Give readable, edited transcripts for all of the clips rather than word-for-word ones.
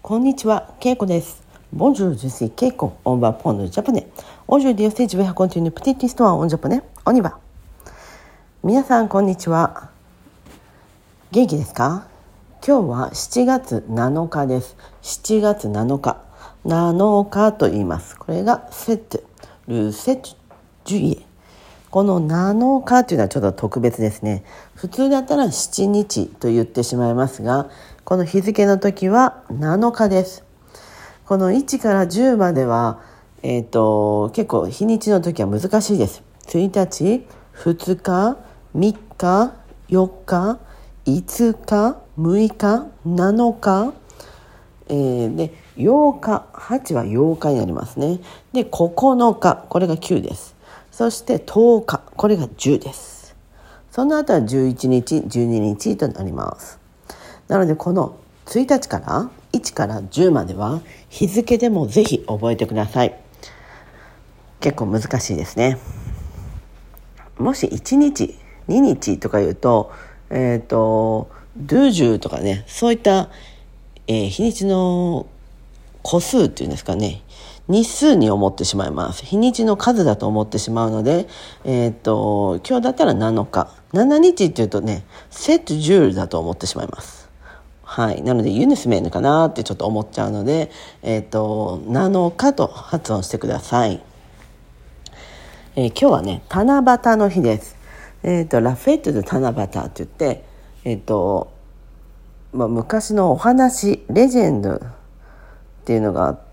こんにちは、ケイコです。Bonjour, je suis Keiko. On va prendre le japonais. Aujourd'hui aussi, je vais raconter une petite histoire en japonais. On y va. 皆さん、こんにちは。元気ですか？今日は7月7日です。7月7日。7日と言います。これが7、ル7、juillet。この7日というのはちょっと特別ですね。普通だったら7日と言ってしまいますが、この日付の時は7日です。この1から10までは、結構日にちの時は難しいです。1日、2日、3日、4日、5日、6日、7日、で8日、8は8日になりますね。で9日、これが9です。そして10日、これが10です。その後は11日、12日となります。なのでこの1日から1から10までは日付でもぜひ覚えてください。結構難しいですね。もし1日、2日とか言うと、ドゥジュとかね、そういった、日にちの個数っていうんですかね、日数に思ってしまいます。日にちの数だと思ってしまうので、今日だったら7日、7日っていうとね、7、10だと思ってしまいます。はい、なのでユニスメーヌかなってちょっと思っちゃうので、7日と発音してください。今日はね、七夕の日です。ラフェットで七夕って言って、昔のお話、レジェンドっていうのがあって、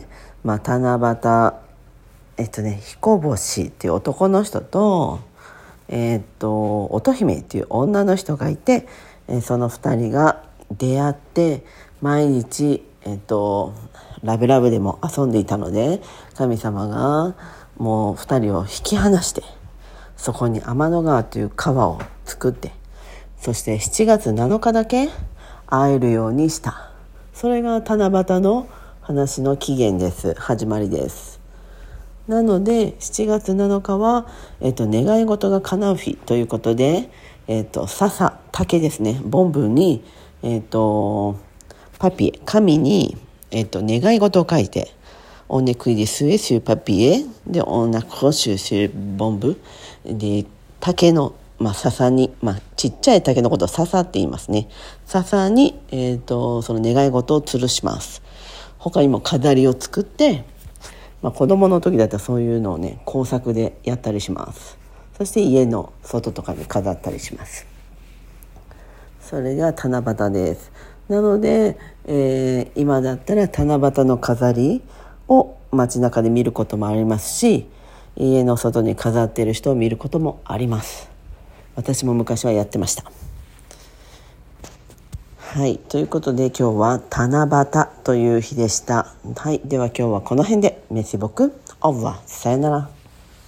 七夕、彦星っていう男の人と、乙姫っていう女の人がいて、その2人が出会って毎日、ラブラブでも遊んでいたので、神様がもう2人を引き離して、そこに天の川という川を作って、そして7月7日だけ会えるようにした。それが七夕の話の起源です。始まりです。なので7月7日は、願い事が叶う日ということで、笹、竹ですね、ボンブに、パピエ、紙に、願い事を書いて、on écrit des souhaits sur papier で on accroche sur bombe で、竹の、笹に、ちっちゃい竹のことを笹って言いますね。笹に、その願い事を吊るします。他にも飾りを作って、子供の時だったらそういうのをね、工作でやったりします。そして家の外とかに飾ったりします。それが七夕です。なので、今だったら七夕の飾りを街中で見ることもありますし、家の外に飾っている人を見ることもあります。私も昔はやってました。はい、ということで今日は七夕という日でした。はい、では今日はこの辺で。メシボク、オーバー、さよなら。